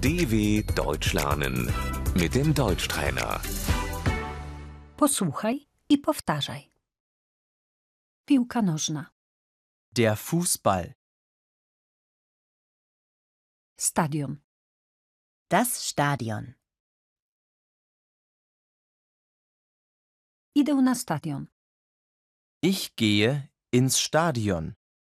DW Deutsch lernen mit dem Deutschtrainer. Posłuchaj i powtarzaj. Piłka nożna, Der Fußball. stadion, Das Stadion. idę na stadion, Ich gehe ins Stadion.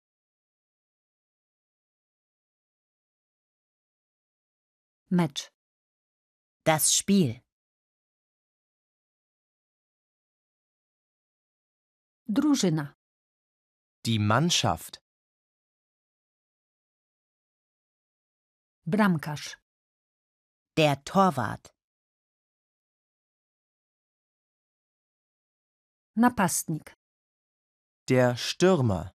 mecz, Das Spiel. drużyna, Die Mannschaft. bramkarz, Der Torwart. napastnik, Der Stürmer.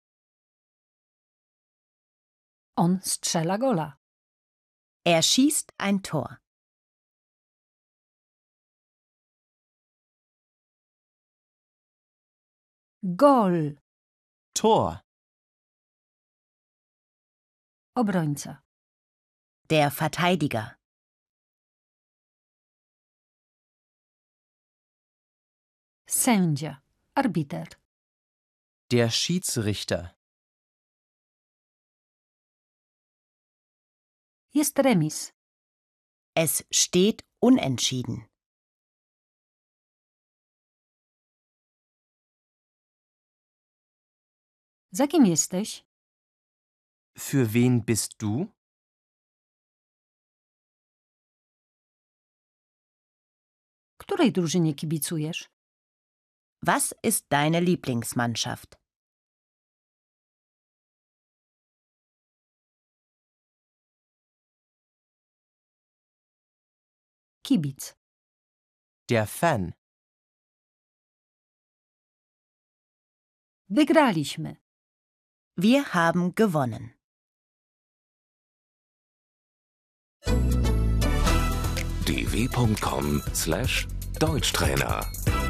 on strzela gola, Er schießt ein Tor. gol, Tor. obrońca, Der Verteidiger. sędzia, arbiter, Der Schiedsrichter. jest remis, Es steht unentschieden. za kim jesteś? Für wen bist du? Której drużynie kibicujesz? Was ist deine Lieblingsmannschaft? Kibic, Der Fan. wygraliśmy, Wir haben gewonnen. dw.com/Deutschtrainer